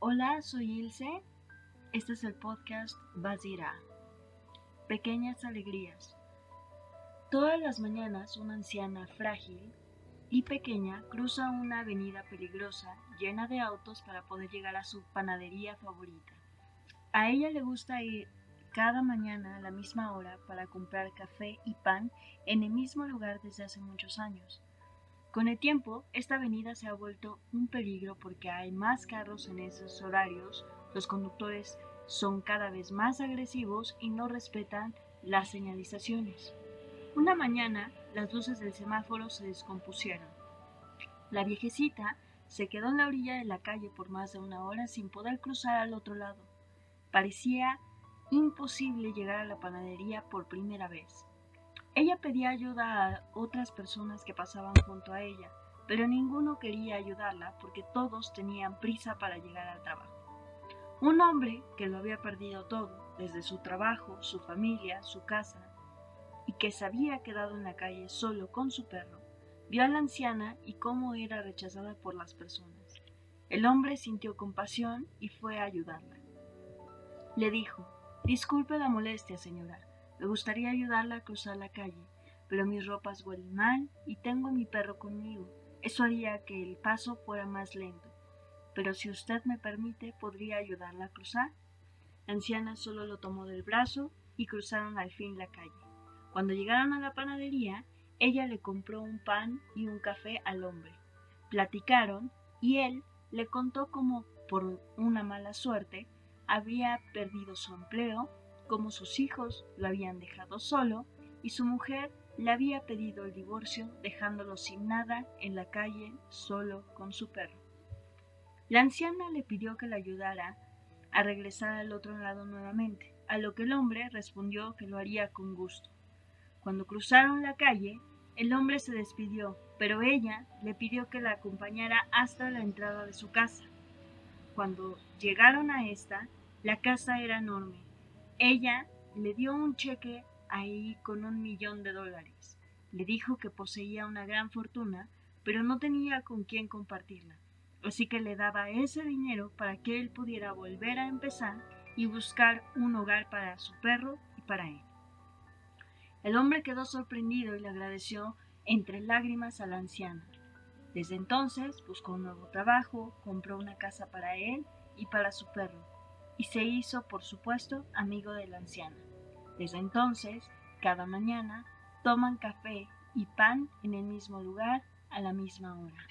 Hola, soy Ilse. Este es el podcast Basira. Pequeñas alegrías. Todas las mañanas una anciana frágil y pequeña cruza una avenida peligrosa llena de autos para poder llegar a su panadería favorita. A ella le gusta ir cada mañana a la misma hora para comprar café y pan en el mismo lugar desde hace muchos años. Con el tiempo, esta avenida se ha vuelto un peligro porque hay más carros en esos horarios, los conductores son cada vez más agresivos y no respetan las señalizaciones. Una mañana, las luces del semáforo se descompusieron. La viejecita se quedó en la orilla de la calle por más de una hora sin poder cruzar al otro lado. Parecía imposible llegar a la panadería por primera vez. Ella pedía ayuda a otras personas que pasaban junto a ella, pero ninguno quería ayudarla porque todos tenían prisa para llegar al trabajo. Un hombre que lo había perdido todo, desde su trabajo, su familia, su casa, y que se había quedado en la calle solo con su perro, vio a la anciana y cómo era rechazada por las personas. El hombre sintió compasión y fue a ayudarla. Le dijo: «Disculpe la molestia, señora. Me gustaría ayudarla a cruzar la calle, pero mis ropas huelen mal y tengo a mi perro conmigo. Eso haría que el paso fuera más lento. Pero si usted me permite, ¿podría ayudarla a cruzar?». La anciana solo lo tomó del brazo y cruzaron al fin la calle. Cuando llegaron a la panadería, ella le compró un pan y un café al hombre. Platicaron y él le contó cómo, por una mala suerte, había perdido su empleo, cómo sus hijos lo habían dejado solo y su mujer le había pedido el divorcio, dejándolo sin nada en la calle solo con su perro. La anciana le pidió que le ayudara a regresar al otro lado nuevamente, a lo que el hombre respondió que lo haría con gusto. Cuando cruzaron la calle, el hombre se despidió, pero ella le pidió que la acompañara hasta la entrada de su casa. Cuando llegaron a esta, la casa era enorme. Ella le dio un cheque ahí con $1,000,000. Le dijo que poseía una gran fortuna, pero no tenía con quién compartirla. Así que le daba ese dinero para que él pudiera volver a empezar y buscar un hogar para su perro y para él. El hombre quedó sorprendido y le agradeció entre lágrimas a la anciana. Desde entonces buscó un nuevo trabajo, compró una casa para él y para su perro, y se hizo, por supuesto, amigo de la anciana. Desde entonces, cada mañana, toman café y pan en el mismo lugar a la misma hora.